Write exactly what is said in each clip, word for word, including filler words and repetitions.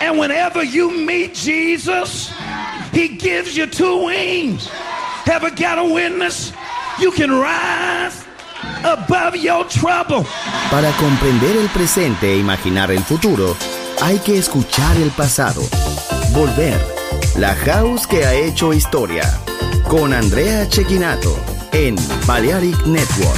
And whenever you meet Jesus, he gives you two wings. Ever got a witness? You can rise above your trouble. Para comprender el presente e imaginar el futuro, hay que escuchar el pasado. Volver. La House que ha hecho historia. Con Andrea Cecchinato en Balearic Network.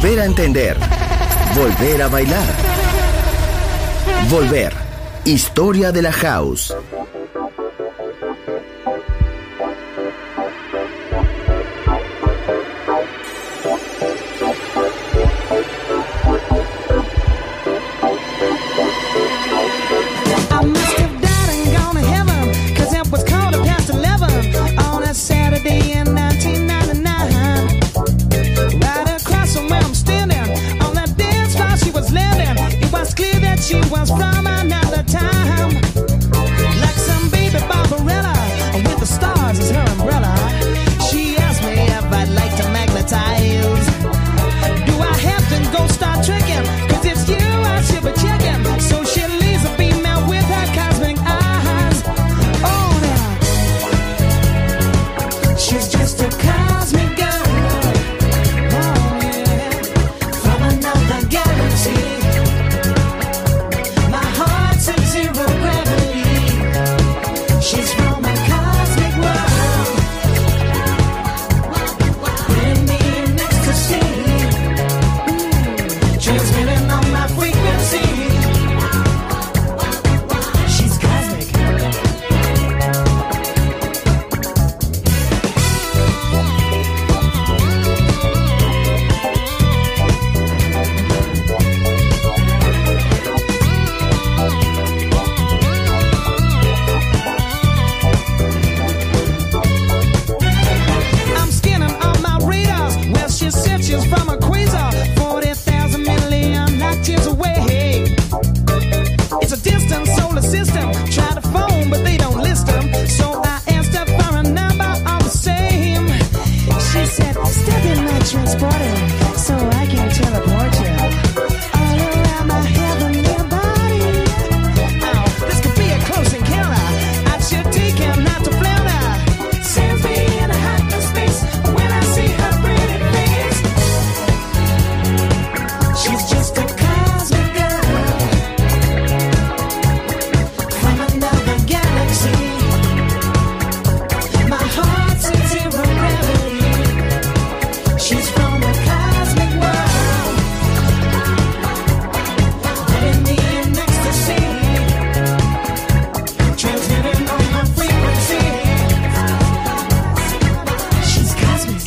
volver a entender, volver a bailar. Volver. Historia de la House. She was from another time, like some baby Barbarella with the stars as her umbrella. She asked me if I'd like to magnetize. Do I have to go start tricking? Cause it's you I should be checking. So she leaves a female with her cosmic eyes. Oh, now she's just a cosmic girl. Oh, yeah, from another galaxy. She's from a cosmic world, putting me in ecstasy, mm, transmitting on my frequency. She's cosmic. She's from a quasar, forty thousand million light years away. It's a distant solar system. Try to phone, but they don't list them. So I asked her for a number all the same. She said, step in my transporter so I can teleport you all around my heavenly body. Oh, this could be a close encounter. I should take him not to flounder. Sends me in a hyperspace when I see her pretty face. She's just a cosmic girl from another galaxy. My heart's in zero gravity. She's from a cosmic world, putting me in ecstasy, transmitting on my frequency. She's cosmic.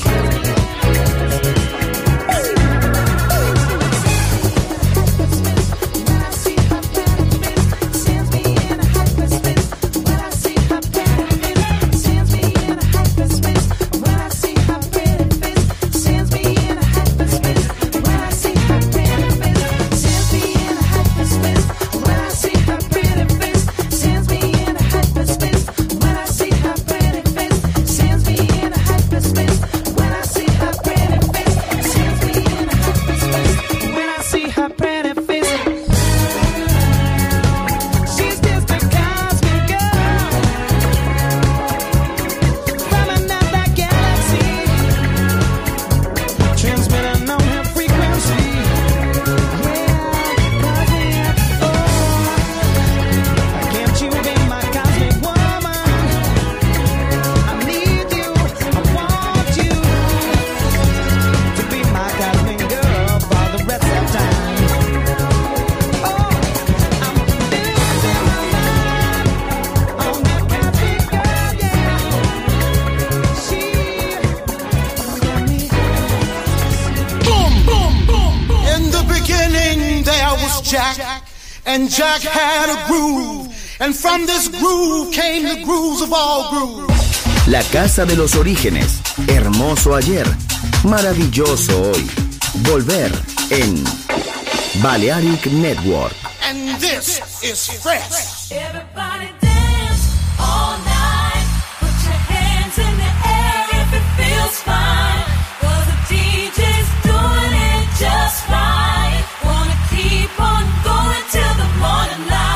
And Jack had a groove, and from this groove came the grooves of all grooves. La casa de los orígenes, hermoso ayer, maravilloso hoy. Volver en Balearic Network. And this is fresh. Everybody dance all night. Put your hands in the air if it feels fine. 'Cause the D J's doing it just right. Wanna keep on going till the morning light.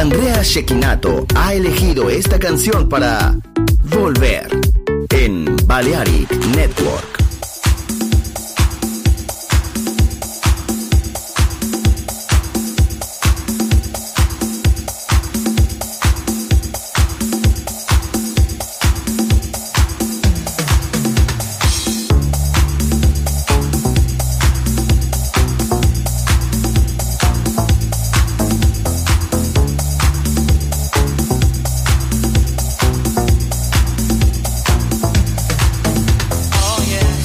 Andrea Cecchinato ha elegido esta canción para volver en Balearic Network. Oh yeah.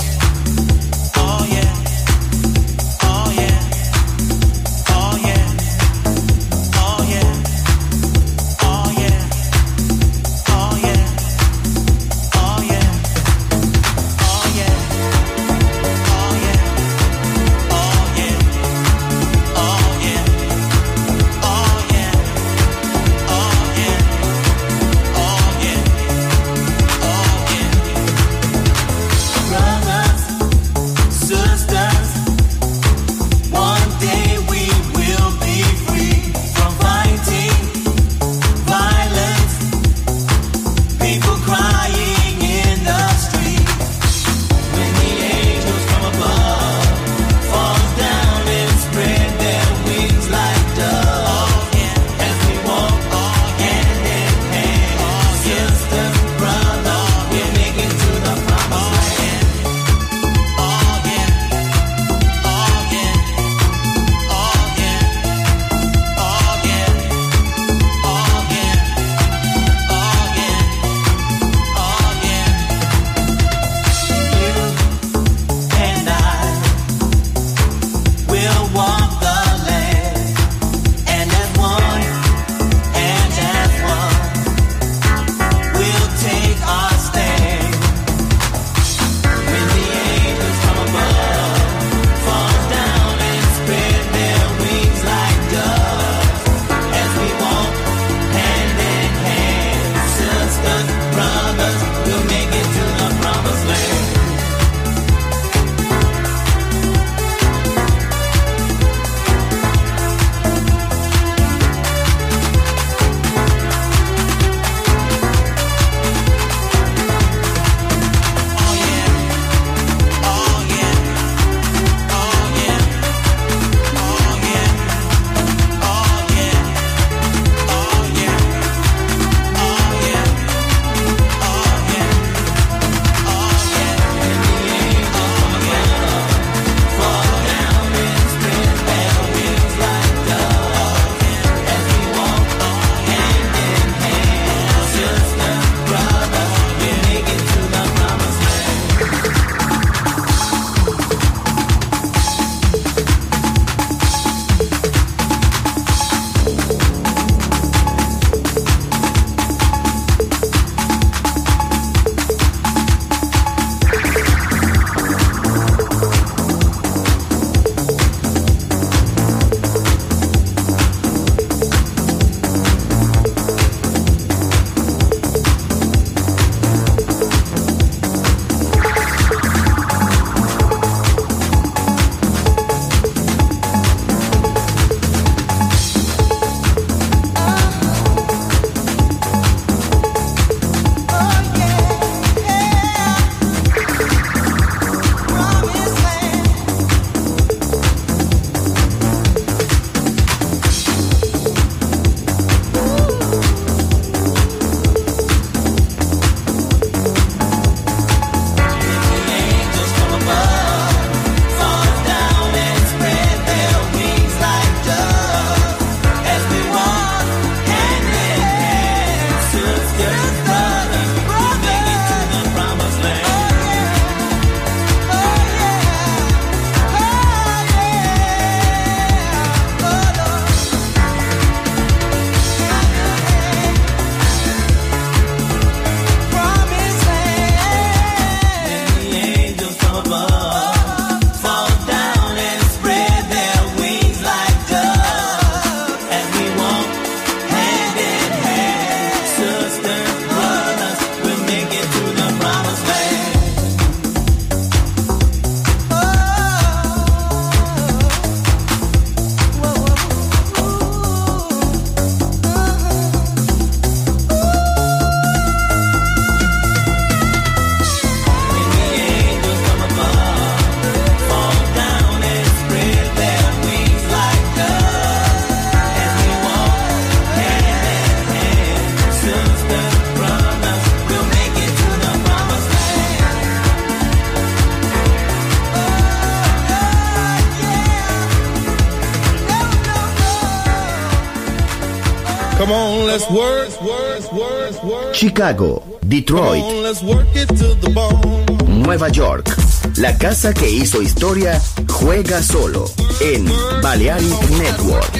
Come on, let's work, work, work, work. Chicago, Detroit, Come on, let's work it to the bone. Nueva York. La casa que hizo historia juega solo en Balearic Network.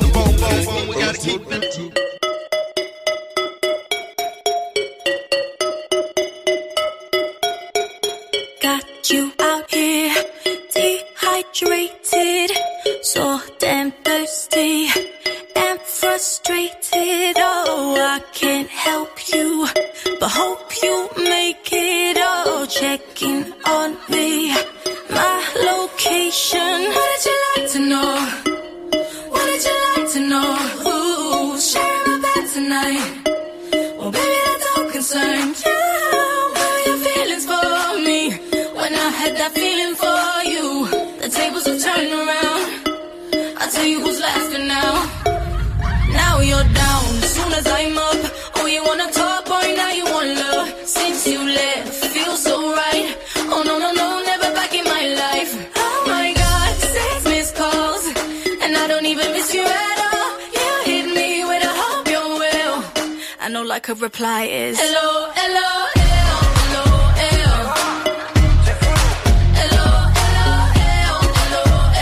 Got you out here, dehydrated, so damn thirsty and frustrated. Oh, I can't help you, but hope you make it. Oh, checking on me, my location. What did you like to know? What did you like to know? Ooh, sharing my bed tonight. Well, baby, that don't concern you. What are your feelings for me? When I had that feeling for you, the tables have turned around. I'll tell you who's laughing now. Now you're down, as soon as I'm up. Oh, you wanna talk, boy, now you want love. Since you left, feels so right. Oh, no, no, no, never back in my life. Oh my God, six missed calls, and I don't even miss you at all. You hit me with a hope you're well. I know like a reply is hello, hello, hello, hello, hello. Hello, hello, hello,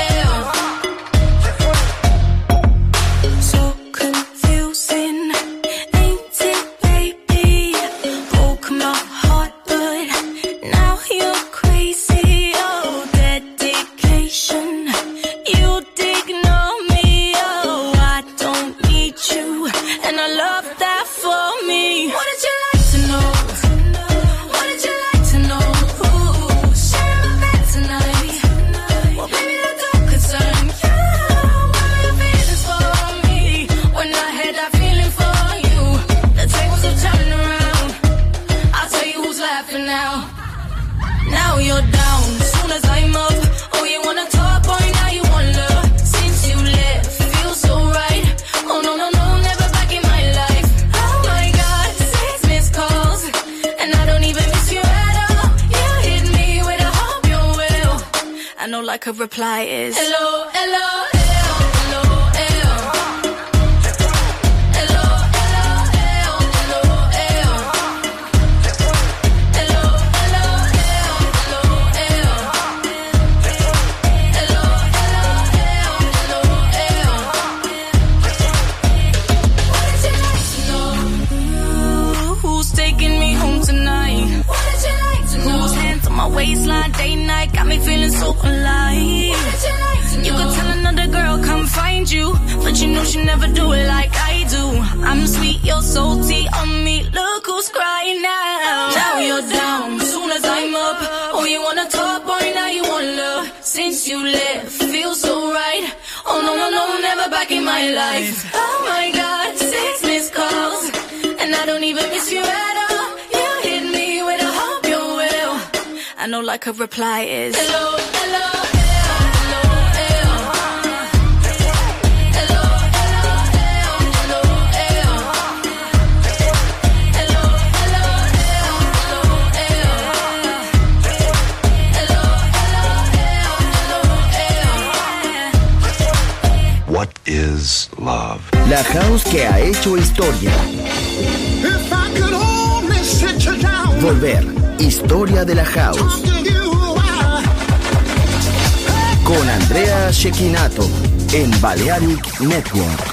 hello, hello. So confusing, ain't it, baby? Broke my heart, but now you're crazy. Oh, dedication, you'd ignore me. Oh, I don't need you, and I love that for me. What did you like to know? What did you like to know? Ooh, sharing my bed tonight. Well, baby, that don't concern you. What are your feelings for me? When I had that feeling for you, the tables have turned around. I'll tell you who's laughing now. Now you're down, as soon as I'm up. Oh, you wanna talk, boy, now you want love. Since you left, feels so right. Oh, no, no, no, never back in my life. Oh my God, six missed calls, and I don't even miss you at all. You hit me with a hope you're well. I know like a reply is hello, hello, hello, hello, hello. Hello, hello, hello, hello, hello. Hello, hello, hello, hello, hello. Hello, hello, hello, hello, hello. What did you like to know? Ooh, who's taking me home tonight? What did you like to know? Whose hands on my waistline, day night, got me feeling so alive. What did you like to know? You could tell another girl come find you, but you know she never do it like I do. I'm sweet, you're salty on me. Look who's crying now. Now you're down, as soon as I'm up. Oh, you wanna talk, boy, now you want love. Since you left, feels so right. Oh, no, no, no, never back in my life. Oh my God, six missed calls, and I don't even miss you at all. You hit me with a hope you're well. I know like a reply is hello, hello, hello, hello. Hello, hello, hello, hello. Hello, hello, hello, hello. Hello, hello, hello, hello. What is love? La house que ha hecho historia. If I could only sit you down, Volver. Historia de la house. talk to you, I- Con Andrea Cecchinato en Balearic Network.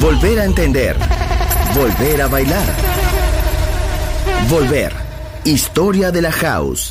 Volver a entender. Volver a bailar. Volver. Historia de la house.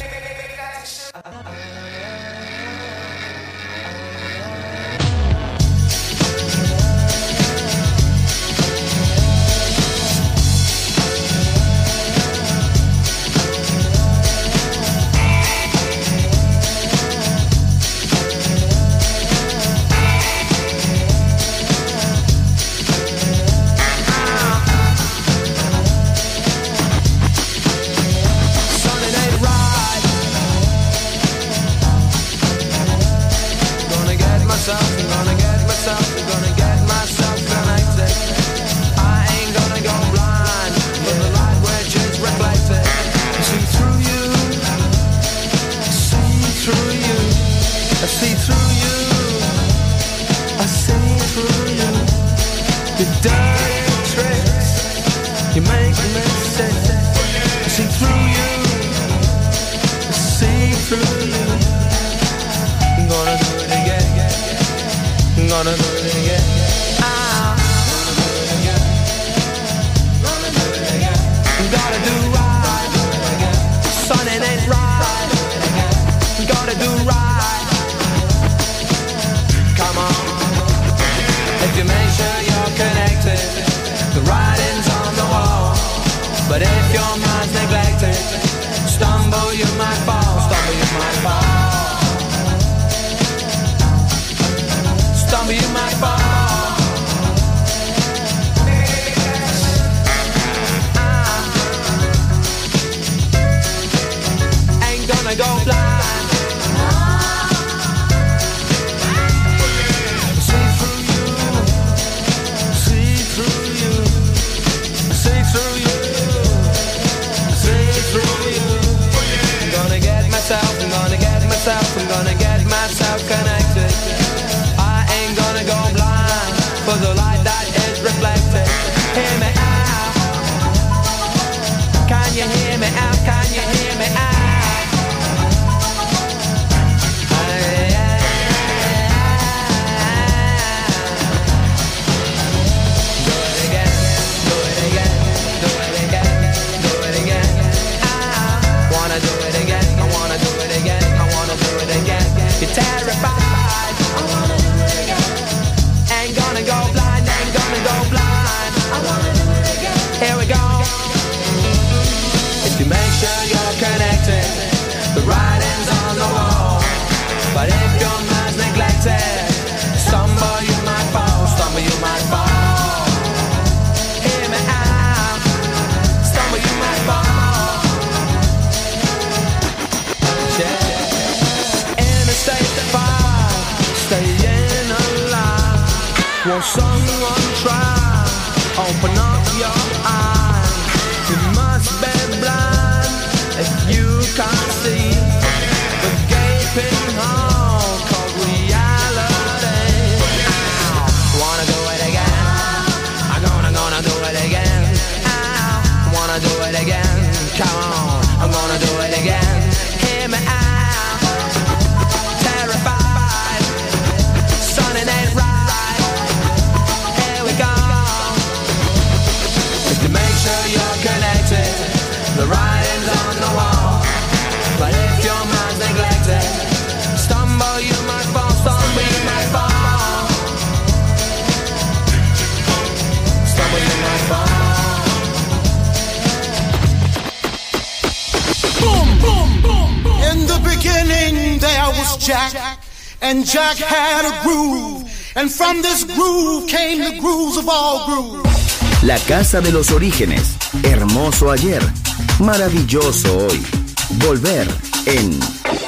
Jack, and Jack had a groove, and from this groove came the grooves of all grooves. La casa de los orígenes, hermoso ayer, maravilloso hoy. Volver en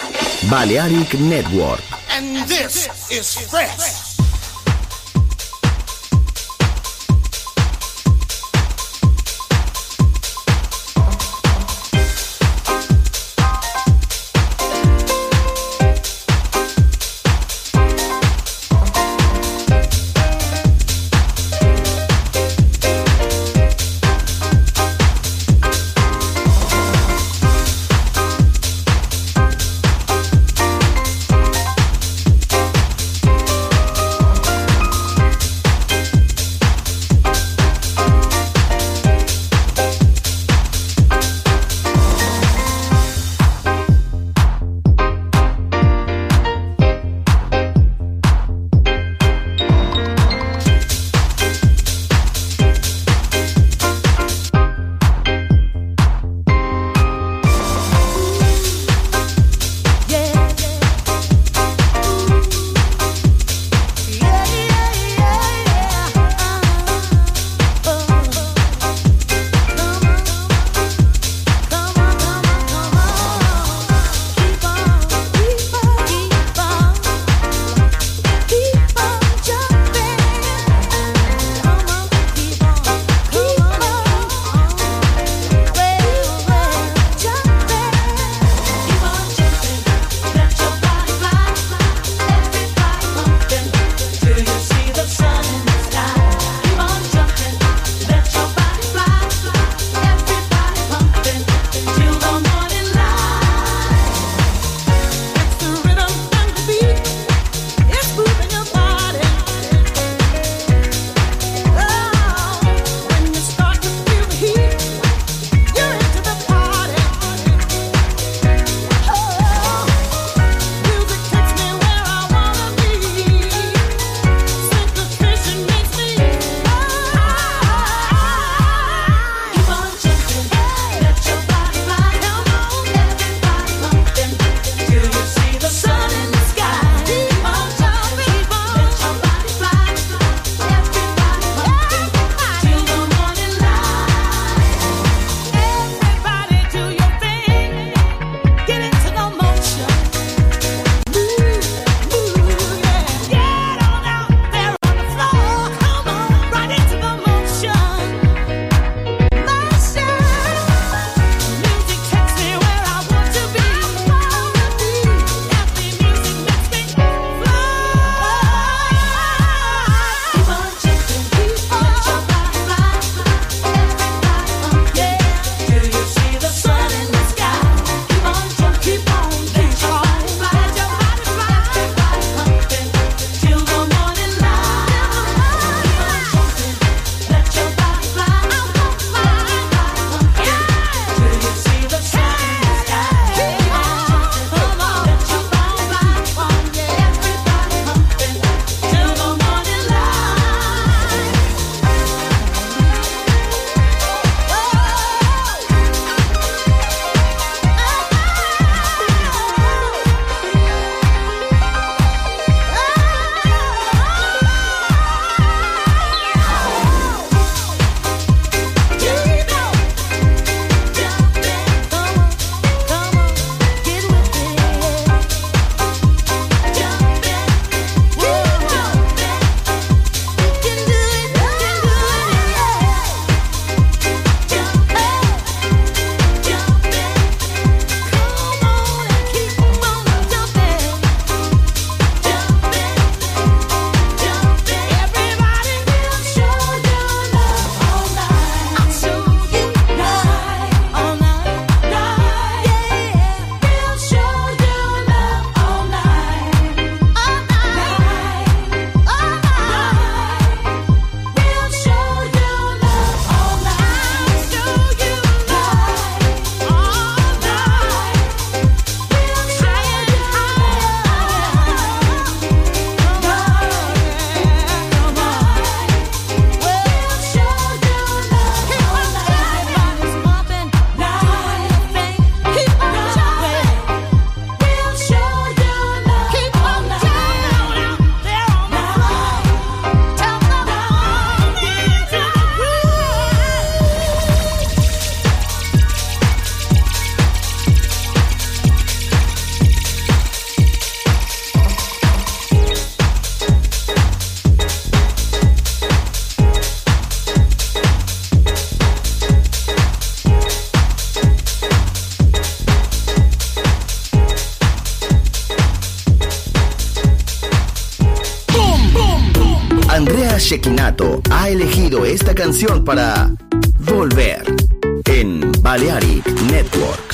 Balearic Network. And this is fresh. Andrea Cecchinato ha elegido esta canción para volver en Balearic Network.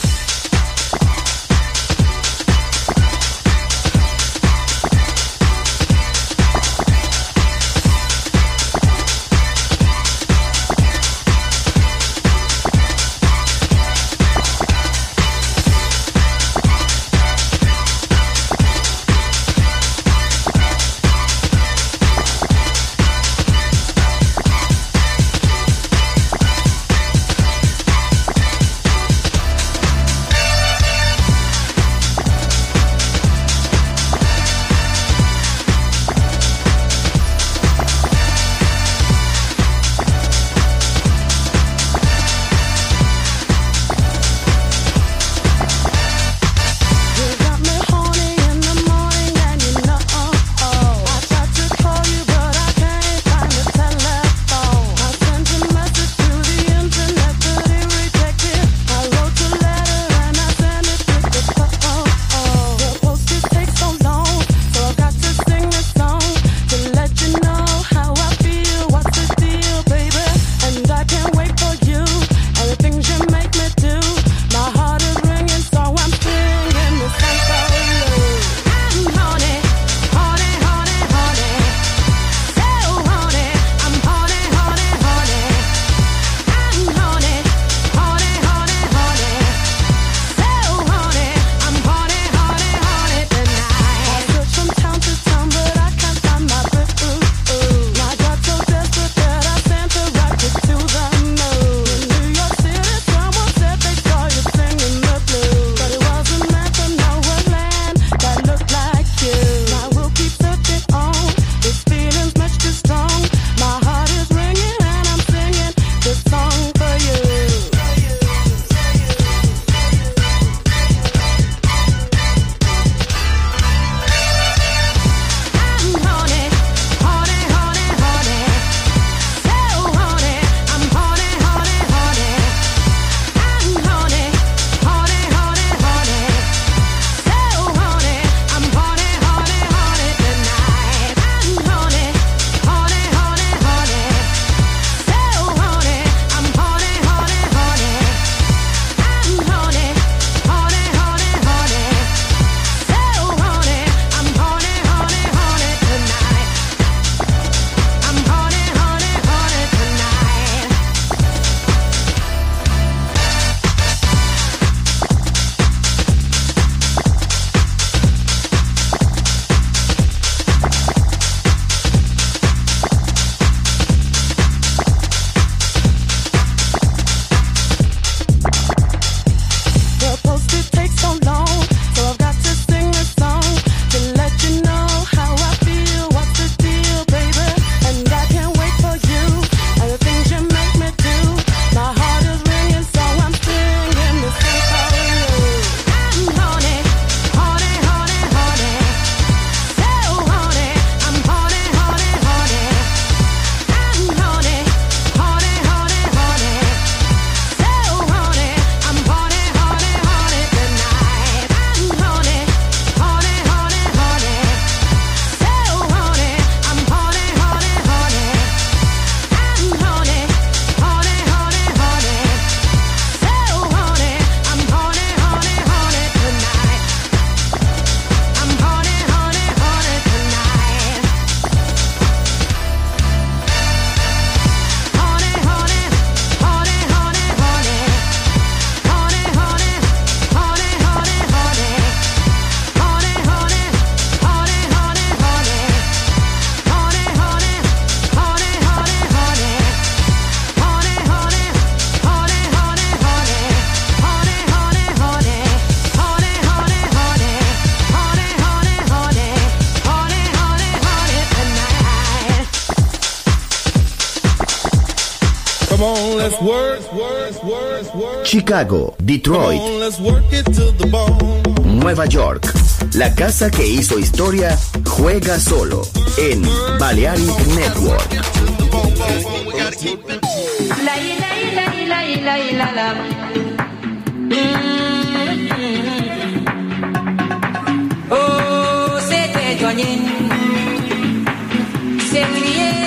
Chicago, Detroit, Nueva York. La casa que hizo historia juega solo en Balearic Network. La ila ila ila ila ila la. Oh, c'était joigné. C'est crié.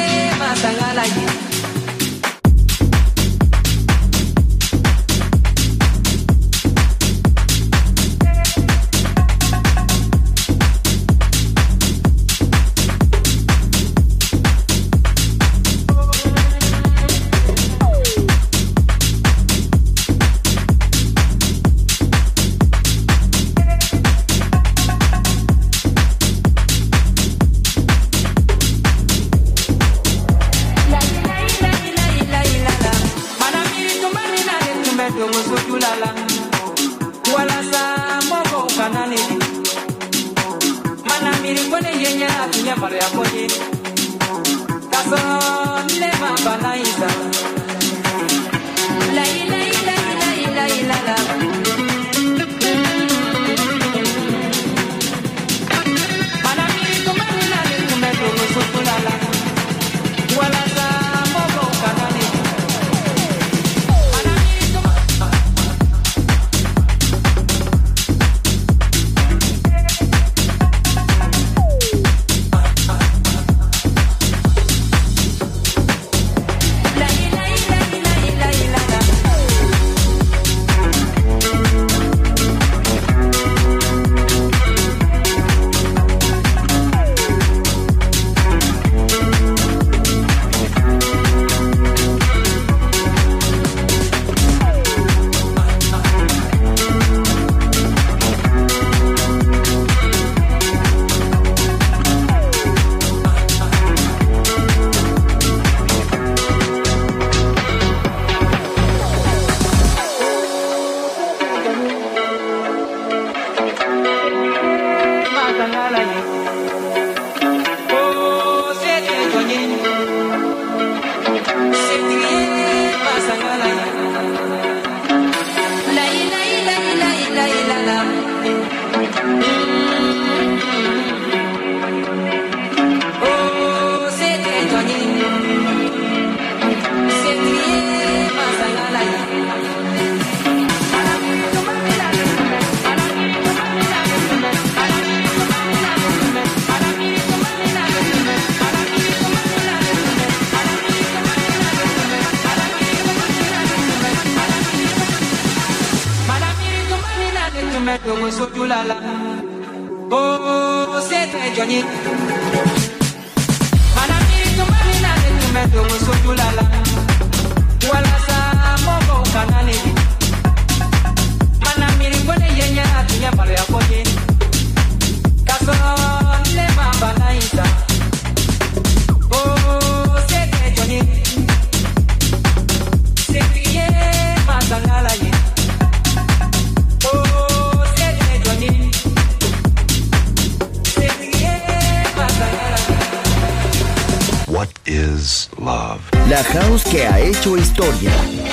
La house que ha hecho historia.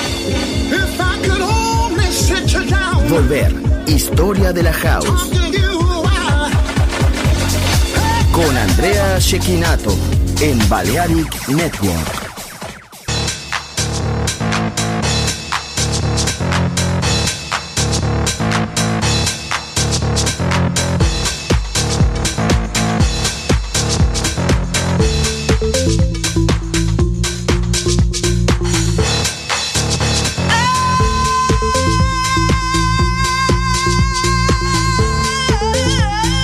Volver, historia de la house. Con Andrea Cecchinato en Balearic Network.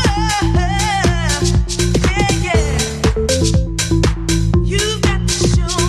You've got to show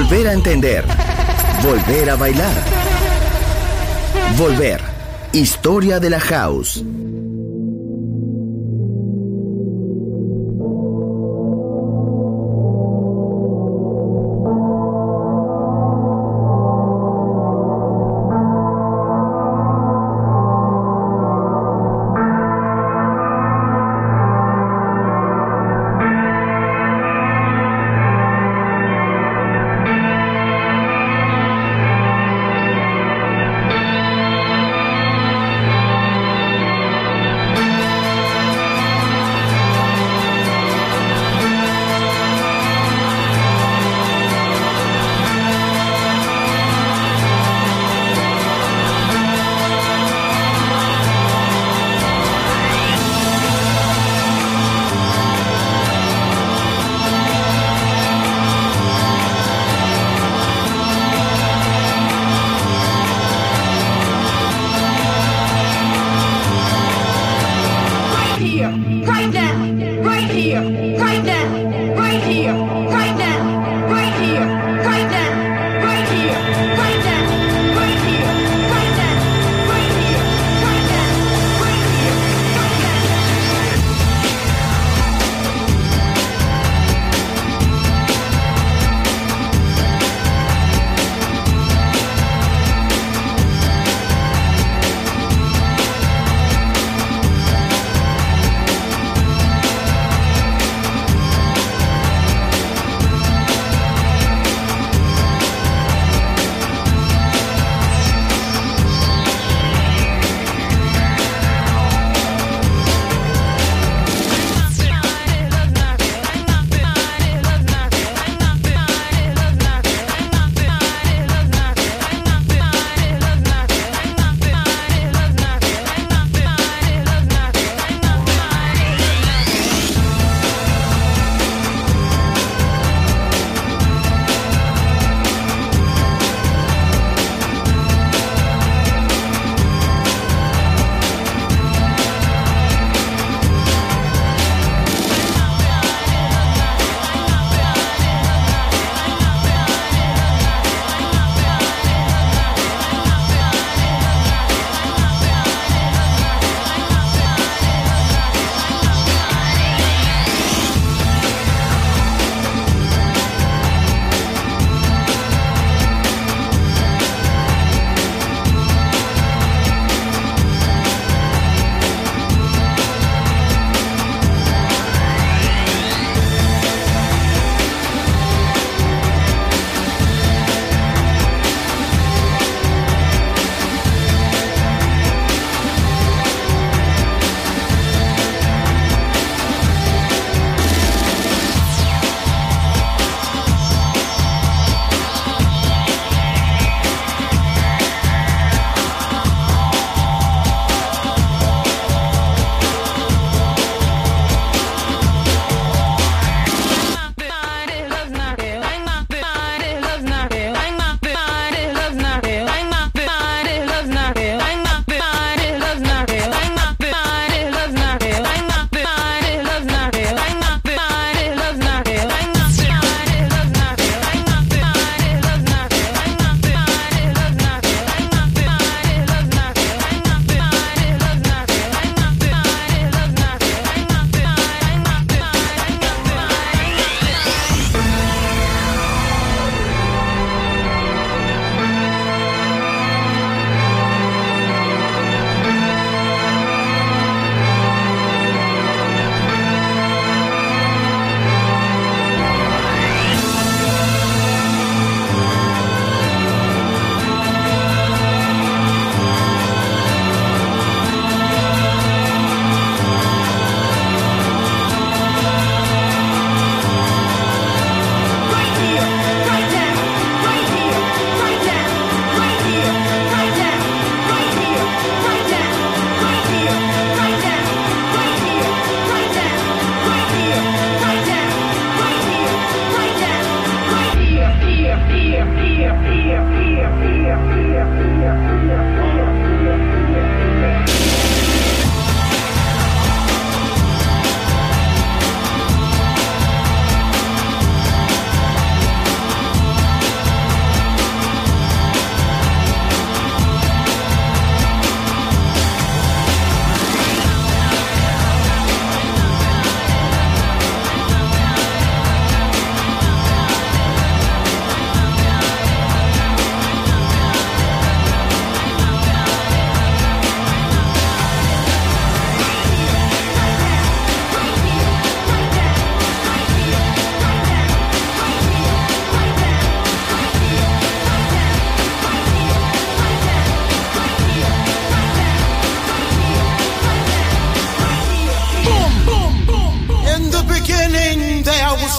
Volver a entender. Volver a bailar. Volver. Historia de la House.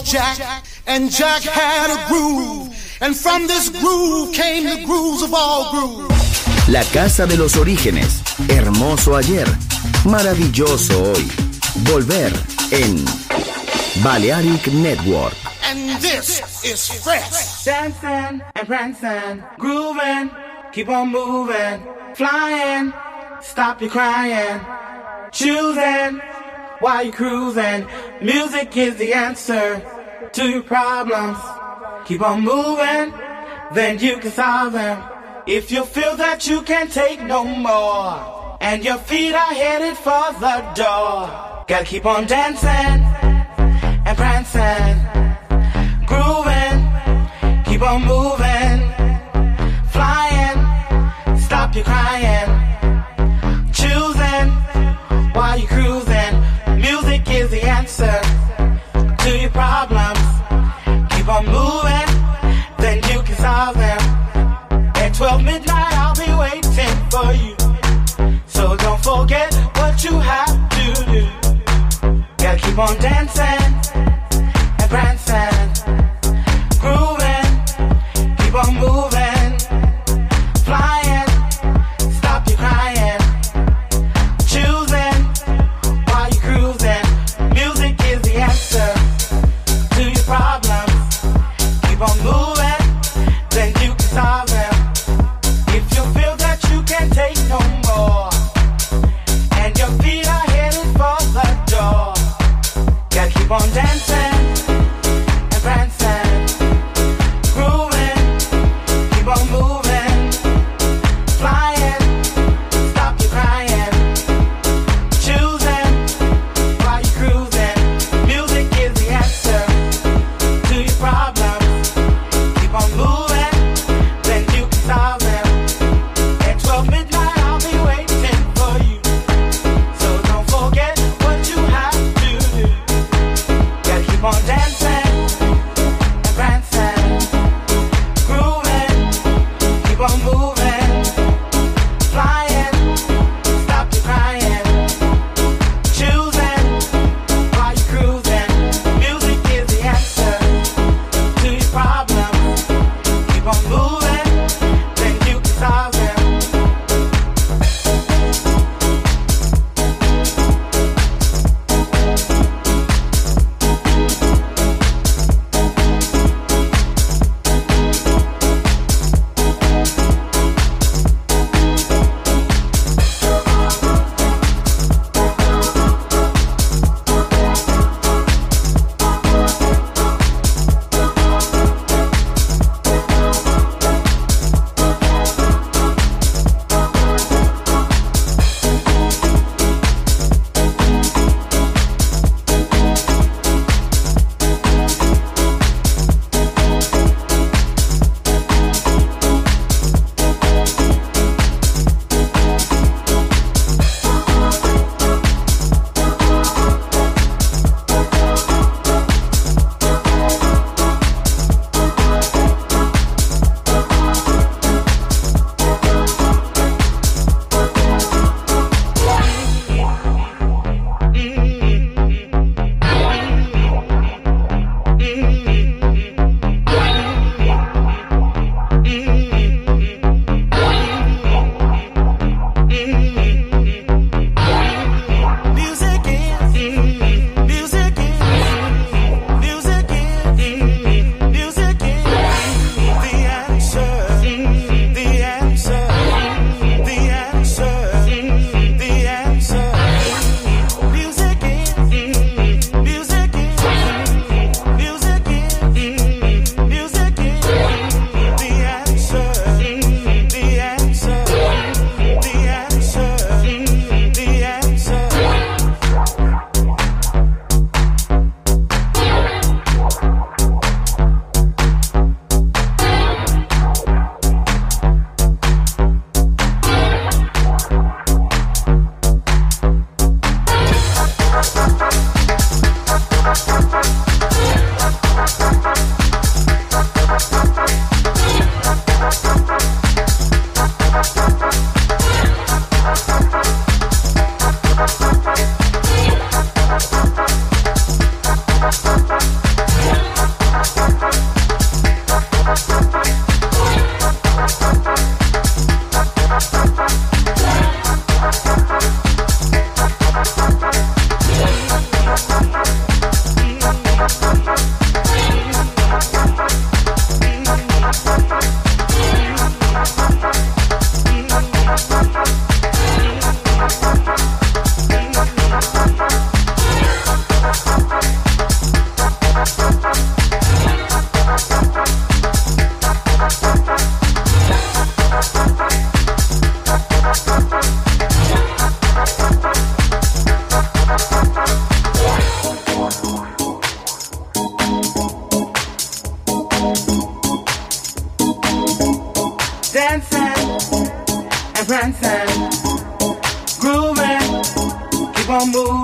Jack, and Jack had a groove, and from this groove came the grooves of all grooves. La casa de los orígenes, hermoso ayer, maravilloso hoy. Volver en Balearic Network. And this is fresh. Dancing and prancing, grooving, keep on moving, flying, stop your crying, choosing while you're cruising. Music is the answer to your problems. Keep on moving, then you can solve them. If you feel that you can't take no more, and your feet are headed for the door, gotta keep on dancing and prancing, grooving, keep on moving, flying, stop your crying, choosing while you're cruising. Music is the answer to your problems. Keep on moving, then you can solve them. At twelve midnight I'll be waiting for you, so don't forget what you have to do. Gotta keep on dancing and prancing, grooving, keep on moving, flying, stop your crying, choosing while you're cruising. Music is the answer to your problems. Keep on moving, then you can solve them. If you feel that you can't take no more, and your feet are headed for the door, gotta keep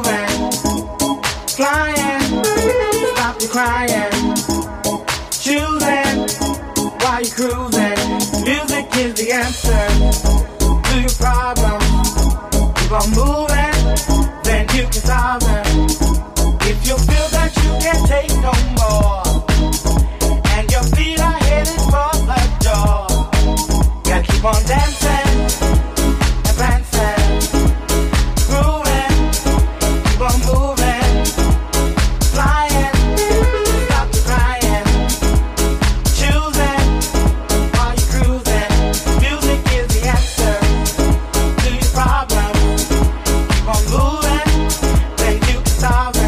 moving, flying, stop your crying, choosing while you're cruising. Music is the answer to your problems. Keep on moving, then you can solve them. If you feel that you can't take no more, and your feet are headed for the door, gotta keep on dancing and prancing, grooving, keep on moving, flying, stop your crying, choosing while you're cruising. Music is the answer to your problems. Keep on moving, then you can solve them.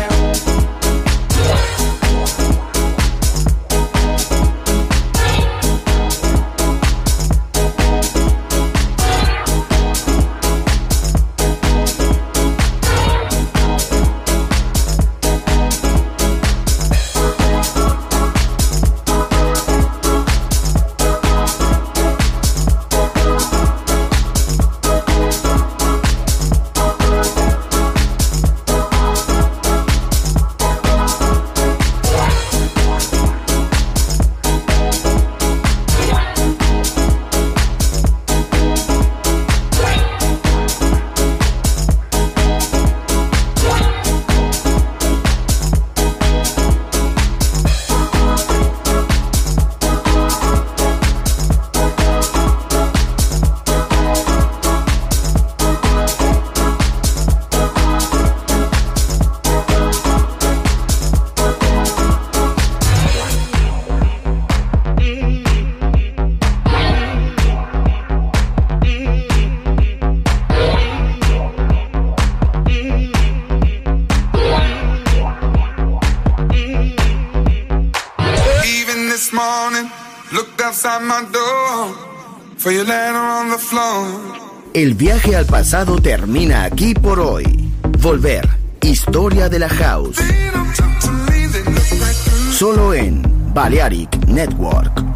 This morning, looked outside my door for your letter on the floor. El viaje al pasado termina aquí por hoy. Volver, historia de la house. Solo en Balearic Network.